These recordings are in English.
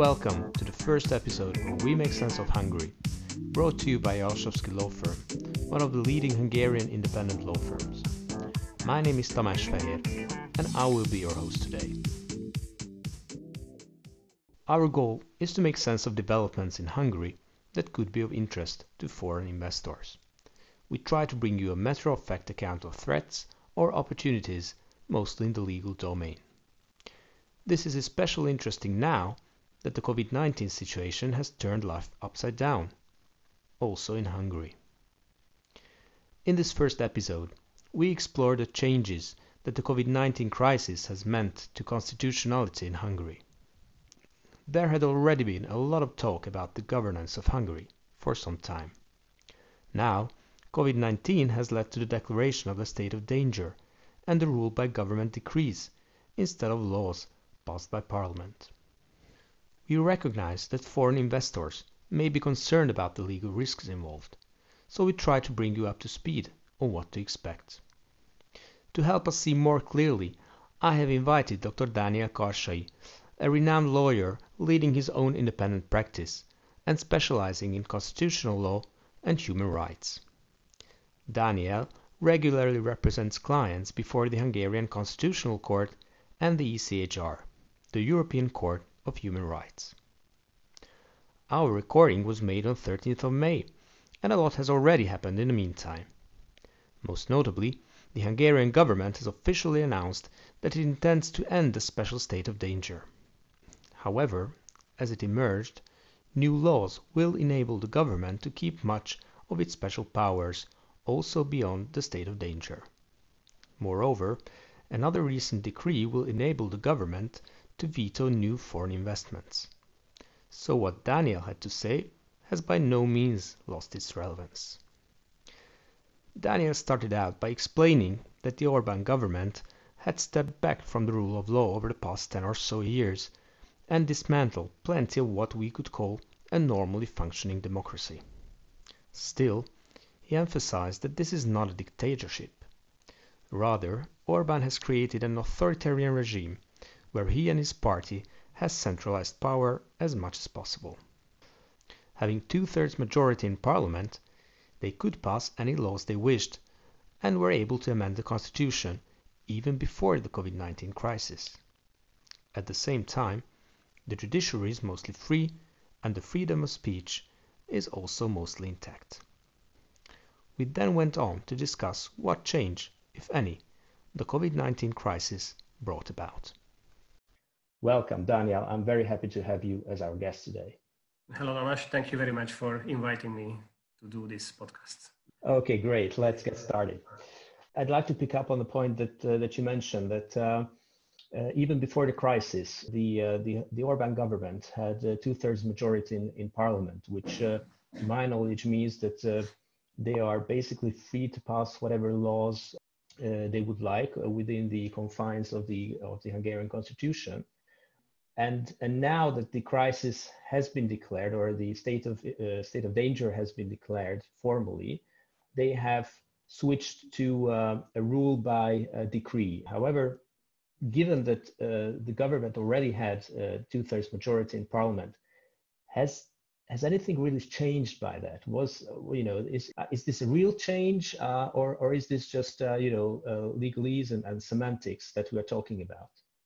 welcome to the first episode of We Make Sense of Hungary, brought to you by Jalsowski Law Firm, one of the leading Hungarian independent law firms. My name is Tamás Fehér, and I will be your host today. Our goal is to make sense of developments in Hungary that could be of interest to foreign investors. We try to bring you a matter-of-fact account of threats or opportunities, mostly in the legal domain. This is especially interesting now that the COVID-19 situation has turned life upside down, also in Hungary. In this first episode, we explore the changes that the COVID-19 crisis has meant to constitutionality in Hungary. There had already been a lot of talk about the governance of Hungary for some time. Now, COVID-19 has led to the declaration of a state of danger and the rule by government decrees instead of laws passed by Parliament. We recognize that foreign investors may be concerned about the legal risks involved, so we try to bring you up to speed on what to expect. To help us see more clearly, I have invited Dr. Dániel Karsai, a renowned lawyer leading his own independent practice and specializing in constitutional law and human rights. Dániel regularly represents clients before the Hungarian Constitutional Court and the ECHR, the European Court of Human Rights. Our recording was made on 13th of May, and a lot has already happened in the meantime. Most notably, the Hungarian government has officially announced that it intends to end the special state of danger. However, as it emerged, new laws will enable the government to keep much of its special powers also beyond the state of danger. Moreover, another recent decree will enable the government to veto new foreign investments. So what Dániel had to say has by no means lost its relevance. Dániel started out by explaining that the Orbán government had stepped back from the rule of law over the past 10 or so years and dismantled plenty of what we could call a normally functioning democracy. Still, he emphasized that this is not a dictatorship. Rather, Orbán has created an authoritarian regime where he and his party has centralized power as much as possible. Having two-thirds majority in parliament, they could pass any laws they wished and were able to amend the constitution even before the COVID-19 crisis. At the same time, the judiciary is mostly free and the freedom of speech is also mostly intact. We then went on to discuss what change, if any, the COVID-19 crisis brought about. Welcome, Dániel. I'm very happy to have you as our guest today. Hello, Tamás. Thank you very much for inviting me to do this podcast. Okay, great. Let's get started. I'd like to pick up on the point that you mentioned that even before the crisis, the Orbán government had a two-thirds majority in parliament, which, to my knowledge, means that they are basically free to pass whatever laws they would like within the confines of the Hungarian constitution. And now that the crisis has been declared, or the state of danger has been declared formally, they have switched to a rule by decree. However, given that the government already had two-thirds majority in parliament, has anything really changed by that? Is this a real change, or is this just legalese and semantics that we are talking about?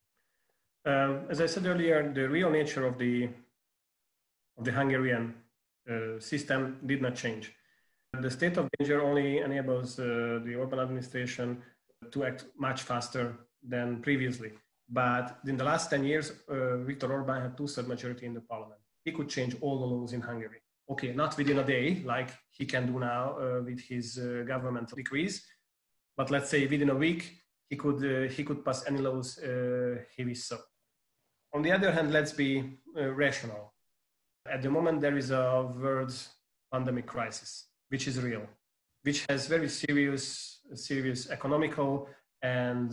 As I said earlier, the real nature of the Hungarian system did not change. The state of danger only enables the Orbán administration to act much faster than previously. But in the last 10 years, Viktor Orbán had two-thirds majority in the parliament. He could change all the laws in Hungary. Okay, not within a day, like he can do now with his governmental decrees, but let's say within a week, he could pass any laws he wished so. On the other hand, let's be rational. At the moment, there is a world pandemic crisis, which is real, which has very serious economical and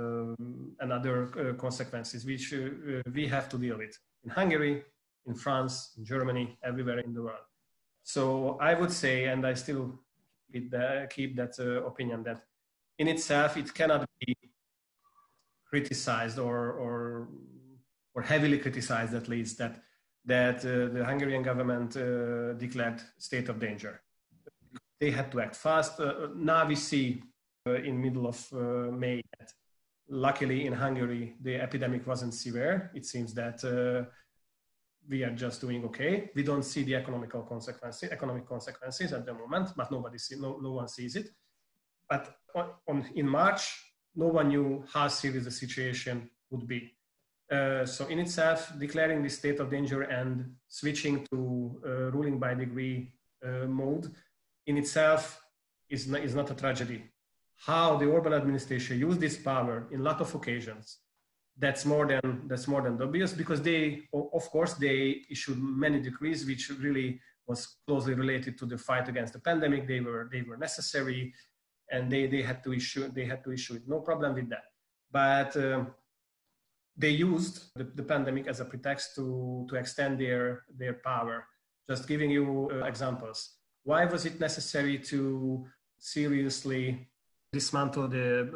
other consequences, which we have to deal with in Hungary, in France, in Germany, everywhere in the world. So I would say, and I still keep that opinion, that in itself it cannot be criticized or heavily criticized, at least, that that the Hungarian government declared state of danger. They had to act fast. Now we see in middle of May that luckily in Hungary the epidemic wasn't severe. It seems that we are just doing okay. We don't see the economic consequences at the moment, but no one sees it. But in March, no one knew how serious the situation would be. So in itself, declaring the state of danger and switching to ruling by degree mode in itself is not a tragedy. How the Orban administration used this power in a lot of occasions, that's more than obvious, because they issued many decrees which really was closely related to the fight against the pandemic. They were necessary, and they had to issue it. No problem with that. But they used the pandemic as a pretext to extend their power. Just giving you examples. Why was it necessary to seriously dismantle the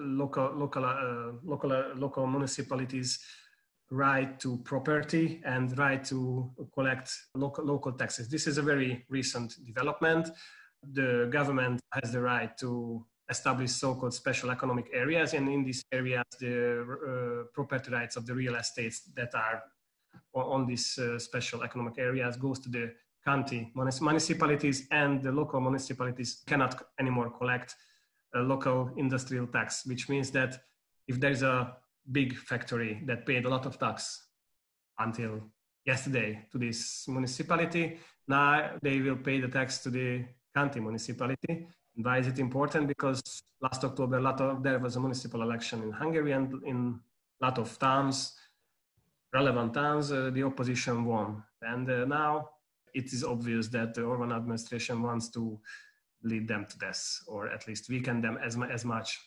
local municipalities' right to property and right to collect local taxes? This is a very recent development. The government has the right to establish so-called special economic areas, and in these areas, the property rights of the real estates that are on these special economic areas goes to the county municipalities, and the local municipalities cannot anymore collect a local industrial tax, which means that if there's a big factory that paid a lot of tax until yesterday to this municipality, now they will pay the tax to the county municipality. And why is it important? Because last October, there was a municipal election in Hungary, and in a lot of towns, relevant towns, the opposition won. And now it is obvious that the Orban administration wants to lead them to death, or at least weaken them as much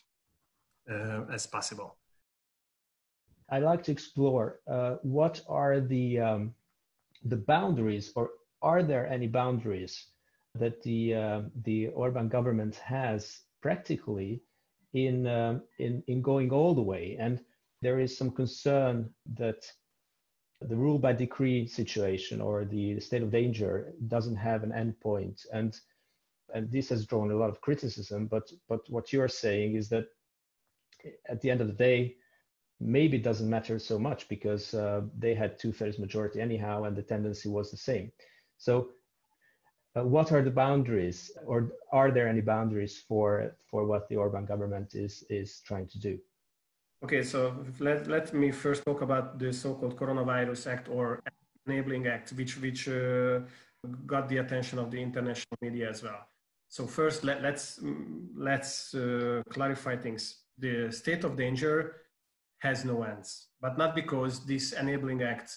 as possible. I'd like to explore what are the boundaries, or are there any boundaries that the Orban government has practically in going all the way? And there is some concern that the rule by decree situation, or the state of danger, doesn't have an endpoint, and this has drawn a lot of criticism. But what you're saying is that at the end of the day, maybe it doesn't matter so much, because they had 2/3 majority anyhow, and the tendency was the same. So what are the boundaries, or are there any boundaries for what the Orban government is trying to do? Okay, so let me first talk about the so-called Coronavirus Act, or Enabling Act, which got the attention of the international media as well. So first, let's clarify things. The state of danger has no ends, but not because this Enabling Act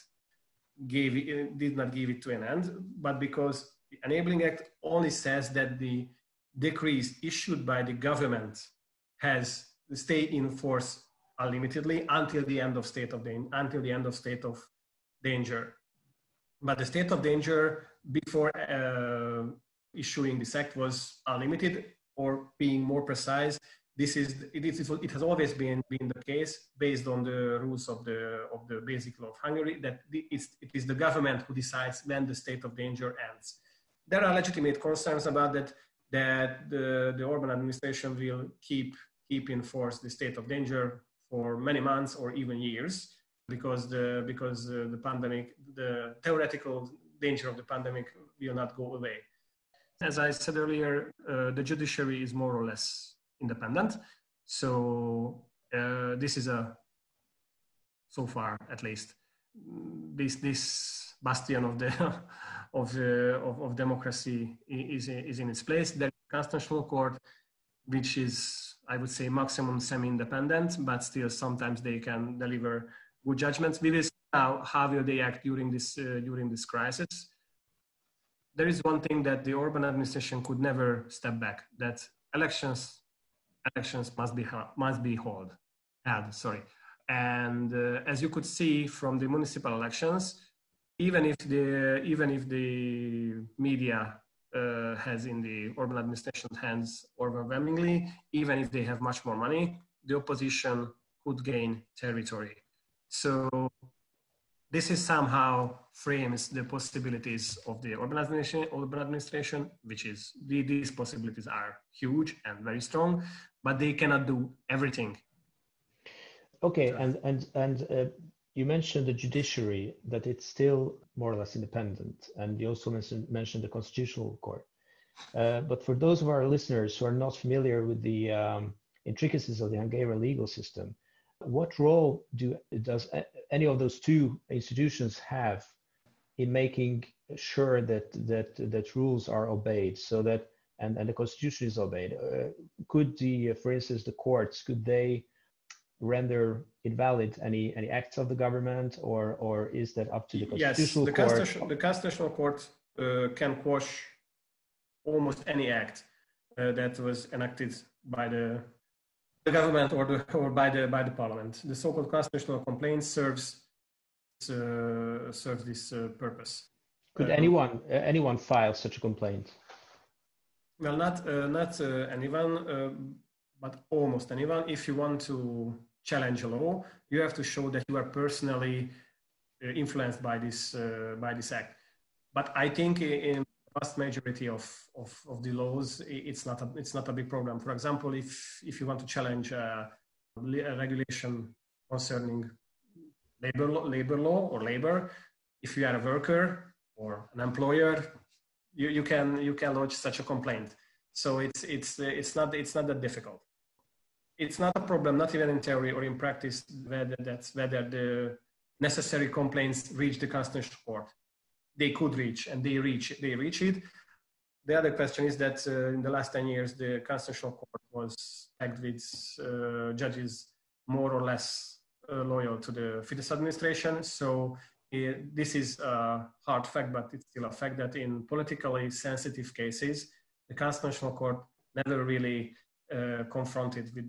did not give it to an end, but because the Enabling Act only says that the decrees issued by the government has stay in force unlimitedly until the end of state of danger. But the state of danger before issuing this act was unlimited, or being more precise, it has always been the case, based on the rules of the basic law of Hungary, that it is the government who decides when the state of danger ends. There are legitimate concerns about that the Orban administration will keep in force the state of danger for many months or even years, because the pandemic, the theoretical danger of the pandemic, will not go away. As I said earlier, the judiciary is more or less independent. So this is so far at least, this bastion of democracy is in its place. There is a constitutional court, which is, I would say, maximum semi-independent, but still sometimes they can deliver good judgments. We will see now how will they act during this crisis. There is one thing that the Orban administration could never step back, that elections must be held. And as you could see from the municipal elections, even if the media has in the Orban administration's hands overwhelmingly, even if they have much more money, the opposition could gain territory. So This is somehow frames the possibilities of the urban administration, which is these possibilities are huge and very strong, but they cannot do everything. Okay, and you mentioned the judiciary, that it's still more or less independent, and you also mentioned the Constitutional Court. But for those of our listeners who are not familiar with the intricacies of the Hungarian legal system, what role does any of those two institutions have in making sure that rules are obeyed, so that and the Constitution is obeyed? Could for instance, the courts, could they render invalid any acts of the government, or is that up to the Constitutional Court? Yes, the Constitutional Court can quash almost any act that was enacted by the government or by the parliament. The so-called constitutional complaint serves this purpose. Could anyone file such a complaint? Well, not anyone, but almost anyone. If you want to challenge a law, you have to show that you are personally influenced by this act. But I think in the vast majority of the laws, it's not a big problem. For example, if you want to challenge a regulation concerning labor law or labor, if you are a worker or an employer, you can lodge such a complaint. So it's not that difficult. It's not a problem, not even in theory or in practice, whether the necessary complaints reach the Constitutional Court. They could reach, and they reach it. The other question is that in the last 10 years, the Constitutional Court was packed with judges more or less loyal to the Fidesz administration. So this is a hard fact, but it's still a fact that in politically sensitive cases, the Constitutional Court never really confronted with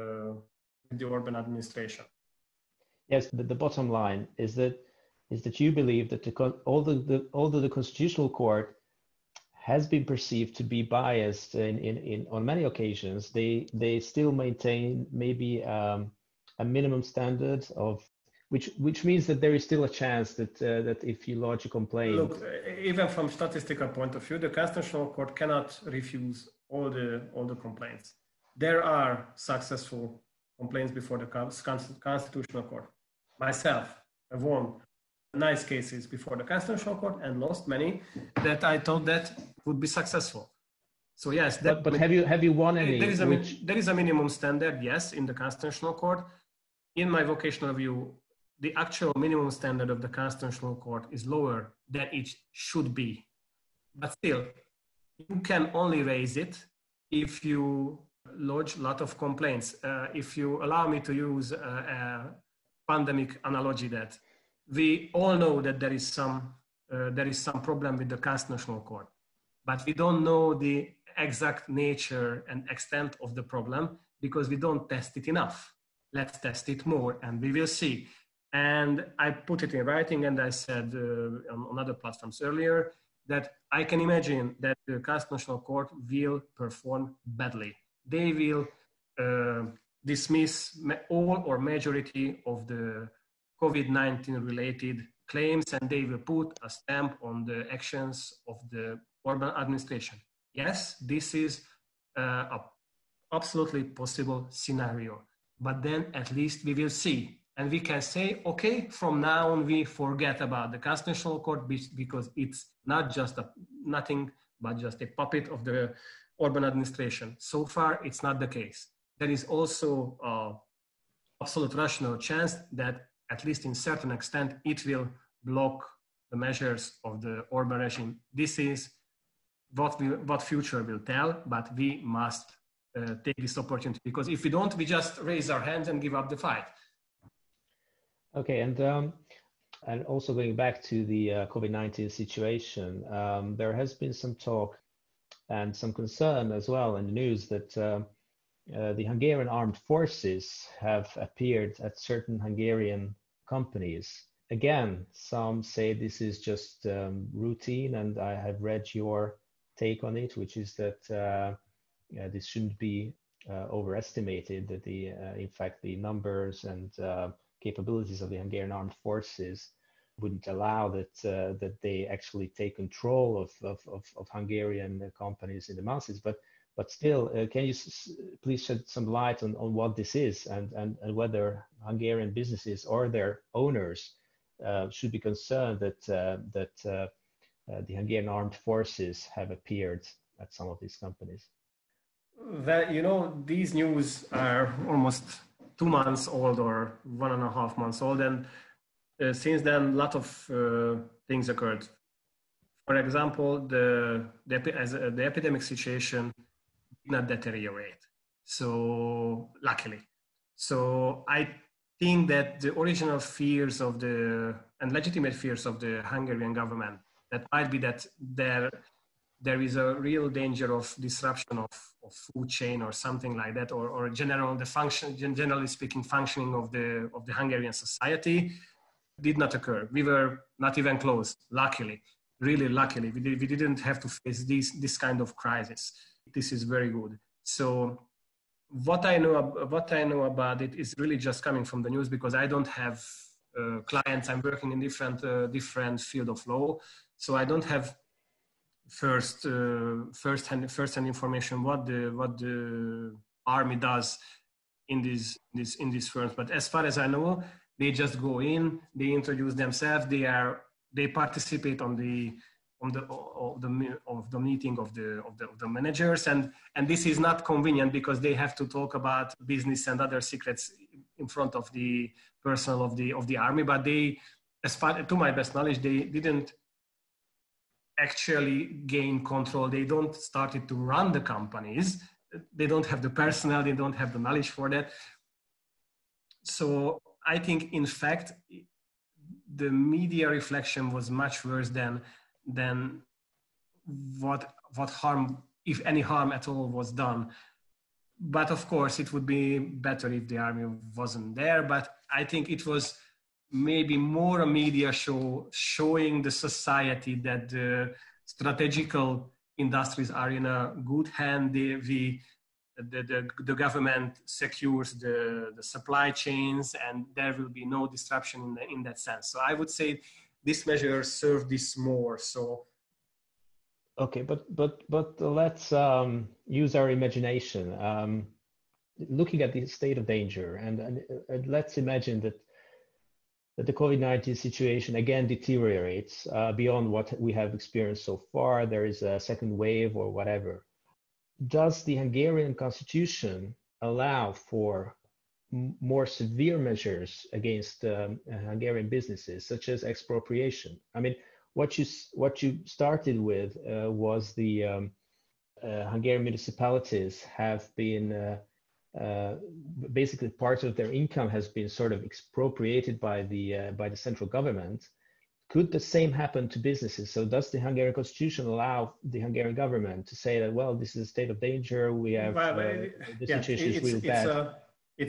the Orban administration. Yes, the bottom line is that you believe that although the Constitutional Court has been perceived to be biased on many occasions, they still maintain maybe a minimum standard of which means that there is still a chance that if you lodge a complaint. Look, even from statistical point of view, the Constitutional Court cannot refuse all the complaints. There are successful complaints before the Constitutional Court. Myself, I've won nice cases before the Constitutional Court and lost many that I thought that would be successful. So yes, but have you won any? There is a minimum standard, yes, in the Constitutional Court. In my vocational view, the actual minimum standard of the Constitutional Court is lower than it should be. But still, you can only raise it if you lodge a lot of complaints. If you allow me to use a pandemic analogy, that we all know that there is some problem with the Constitutional Court, but we don't know the exact nature and extent of the problem because we don't test it enough. Let's test it more and we will see. And I put it in writing, and I said on other platforms earlier that I can imagine that the Constitutional Court will perform badly. They will dismiss all or majority of the COVID-19 related claims, and they will put a stamp on the actions of the Orban administration. Yes, this is a absolutely possible scenario, but then at least we will see. And we can say, okay, from now on, we forget about the Constitutional Court because it's not just nothing but just a puppet of the Orban administration. So far, it's not the case. There is also an absolute rational chance that, at least in certain extent, it will block the measures of the Orban regime. This is what future will tell, but we must take this opportunity, because if we don't, we just raise our hands and give up the fight. Okay, and also going back to the COVID-19 situation, there has been some talk and some concern as well in the news that the Hungarian armed forces have appeared at certain Hungarian companies. Again, some say this is just routine, and I have read your take on it, which is that this shouldn't be overestimated, that in fact the numbers and capabilities of the Hungarian armed forces wouldn't allow that they actually take control of Hungarian companies in the masses. But still, can you please shed some light on what this is and whether Hungarian businesses or their owners should be concerned that the Hungarian armed forces have appeared at some of these companies? Well, these news are almost 2 months old or 1.5 months old, and since then, a lot of things occurred. For example, the epidemic situation did not deteriorate. So luckily, so I think that the original fears and legitimate fears of the Hungarian government, that might be that there is a real danger of disruption of food chain or something like that, or generally speaking, functioning of the Hungarian society, did not occur. We were not even close, luckily, really luckily. We didn't have to face this kind of crisis. This is very good. So what I know about it is really just coming from the news, because I don't have clients. I'm working in different field of law, so I don't have first-hand information what the army does in these firms. But as far as I know, they just go in, they introduce themselves, they participate on the meeting of the managers, and this is not convenient because they have to talk about business and other secrets in front of the personnel of the army. But they, as far to my best knowledge, they didn't actually gain control. They don't started to run the companies. They don't have the personnel. They don't have the knowledge for that. So I think, in fact, the media reflection was much worse than what harm, if any harm at all, was done. But of course, it would be better if the army wasn't there. But I think it was maybe more a media show showing the society that the strategical industries are in a good hand. The government secures the supply chains, and there will be no disruption in that sense. So I would say this measure served this more. So okay, but let's use our imagination. Looking at the state of danger, and let's imagine that the COVID-19 situation again deteriorates beyond what we have experienced so far. There is a second wave or whatever. Does the Hungarian constitution allow for more severe measures against Hungarian businesses, such as expropriation? I mean, what you started with was the Hungarian municipalities have been basically part of their income has been sort of expropriated by the central government. Could the same happen to businesses? So does the Hungarian constitution allow the Hungarian government to say that, well, this is a state of danger, we have the situation is really bad? It's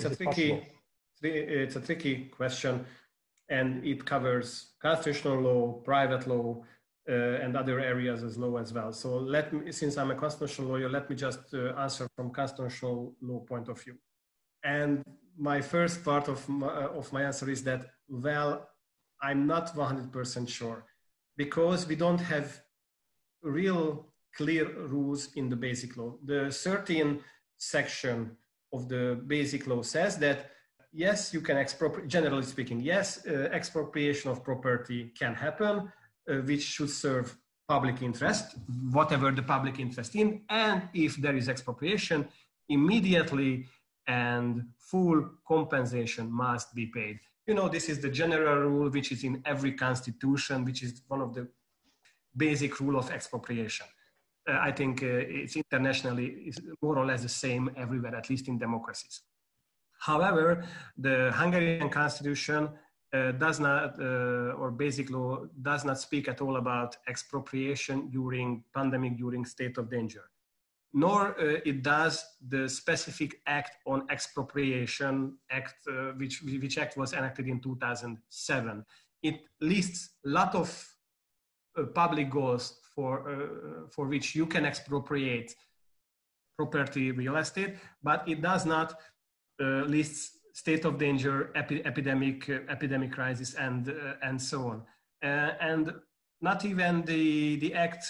a tricky question, and it covers constitutional law, private law, and other areas as law as well. So since I'm a constitutional lawyer, let me just answer from constitutional law point of view. And my first part of my answer is that, well, I'm not 100% sure, because we don't have real clear rules in the basic law. The 13th section of the basic law says that, yes, you can expropriate, generally speaking, yes, expropriation of property can happen, which should serve public interest, whatever the public interest in, and if there is expropriation, immediately and full compensation must be paid. This is the general rule, which is in every constitution, which is one of the basic rule of expropriation. I think it's internationally more or less the same everywhere, at least in democracies. However, the Hungarian constitution does not, or basic law does not speak at all about expropriation during pandemic, during state of danger. Nor it does the specific act on expropriation act, which act was enacted in 2007. It lists a lot of public goals for which you can expropriate property, real estate, but it does not list state of danger, epidemic crisis, and so on. and not even the act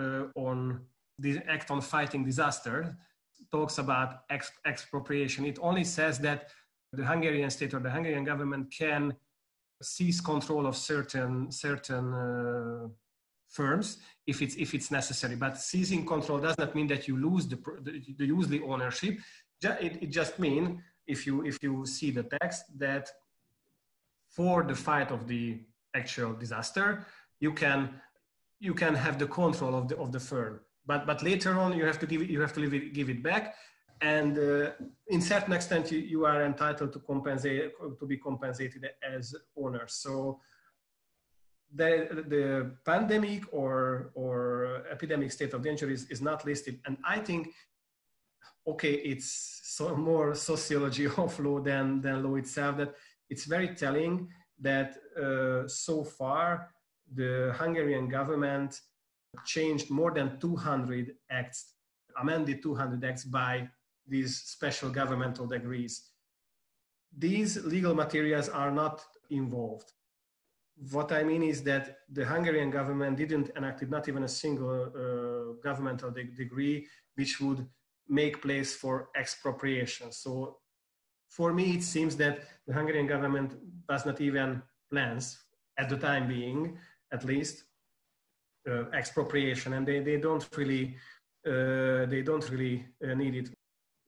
on fighting disaster talks about expropriation. It only says that the Hungarian state or the Hungarian government can seize control of certain firms if it's necessary. But seizing control does not mean that you lose the ownership. It just means, if you see the text, that for the fight of the actual disaster, you can have the control of the firm. But later on, you have to give it back, and in certain extent, you are entitled to be compensated as owners. So the pandemic or epidemic state of danger is not listed, and I think, okay, it's more sociology of law than law itself. That it's very telling that so far the Hungarian government changed more than 200 acts, amended 200 acts by these special governmental decrees. These legal materials are not involved. What I mean is that the Hungarian government didn't enact not even a single governmental decree which would make place for expropriation. So for me, it seems that the Hungarian government does not even plans, at the time being, at least, expropriation, and they don't really need it.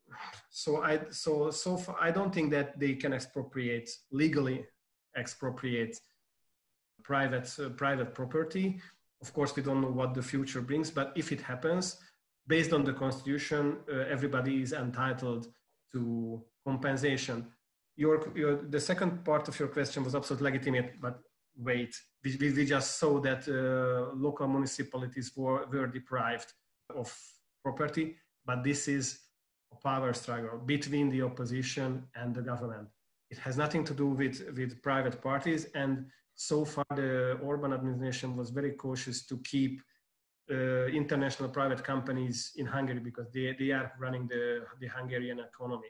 So far, I don't think that they can legally expropriate private property. Of course, we don't know what the future brings, but if it happens, based on the constitution, everybody is entitled to compensation. The second part of your question was absolutely legitimate, but wait, we just saw that local municipalities were deprived of property, but this is a power struggle between the opposition and the government. It has nothing to do with private parties, and so far the Orban administration was very cautious to keep international private companies in Hungary because they are running the Hungarian economy.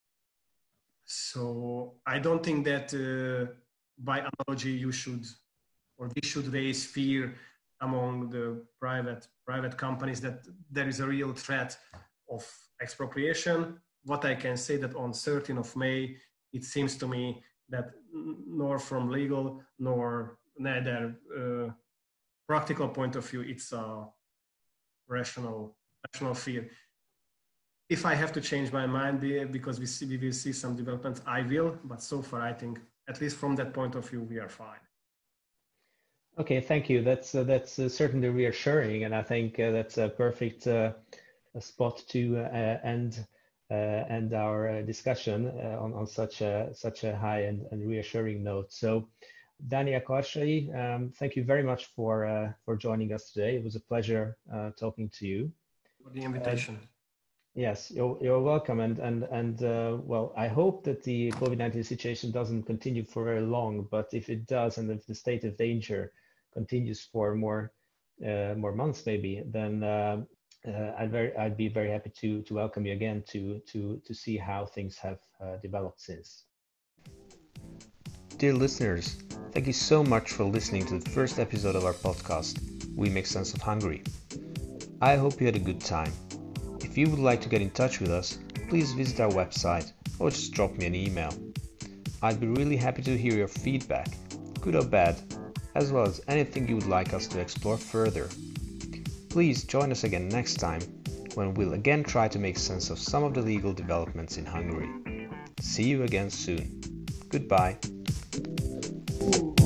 So I don't think that by analogy we should raise fear among the private companies that there is a real threat of expropriation. What I can say that on 13th of May, it seems to me that nor from legal nor neither practical point of view, it's a rational fear. If I have to change my mind because we will see some developments, I will. But so far, I think, at least from that point of view, we are fine. Okay, thank you. That's certainly reassuring, and I think that's a perfect spot to end our discussion on such a high and reassuring note. So, Dani Akarsai, thank you very much for joining us today. It was a pleasure talking to you. For the invitation. Yes, you're welcome. And well, I hope that the COVID-19 situation doesn't continue for very long, but if it does, and if the state of danger continues for more months maybe, then I'd be very happy to welcome you again to see how things have developed since. Dear listeners, thank you so much for listening to the first episode of our podcast, We Make Sense of Hungary. I hope you had a good time. If you would like to get in touch with us, please visit our website or just drop me an email. I'd be really happy to hear your feedback, good or bad, as well as anything you would like us to explore further. Please join us again next time when we'll again try to make sense of some of the legal developments in Hungary. See you again soon. Goodbye.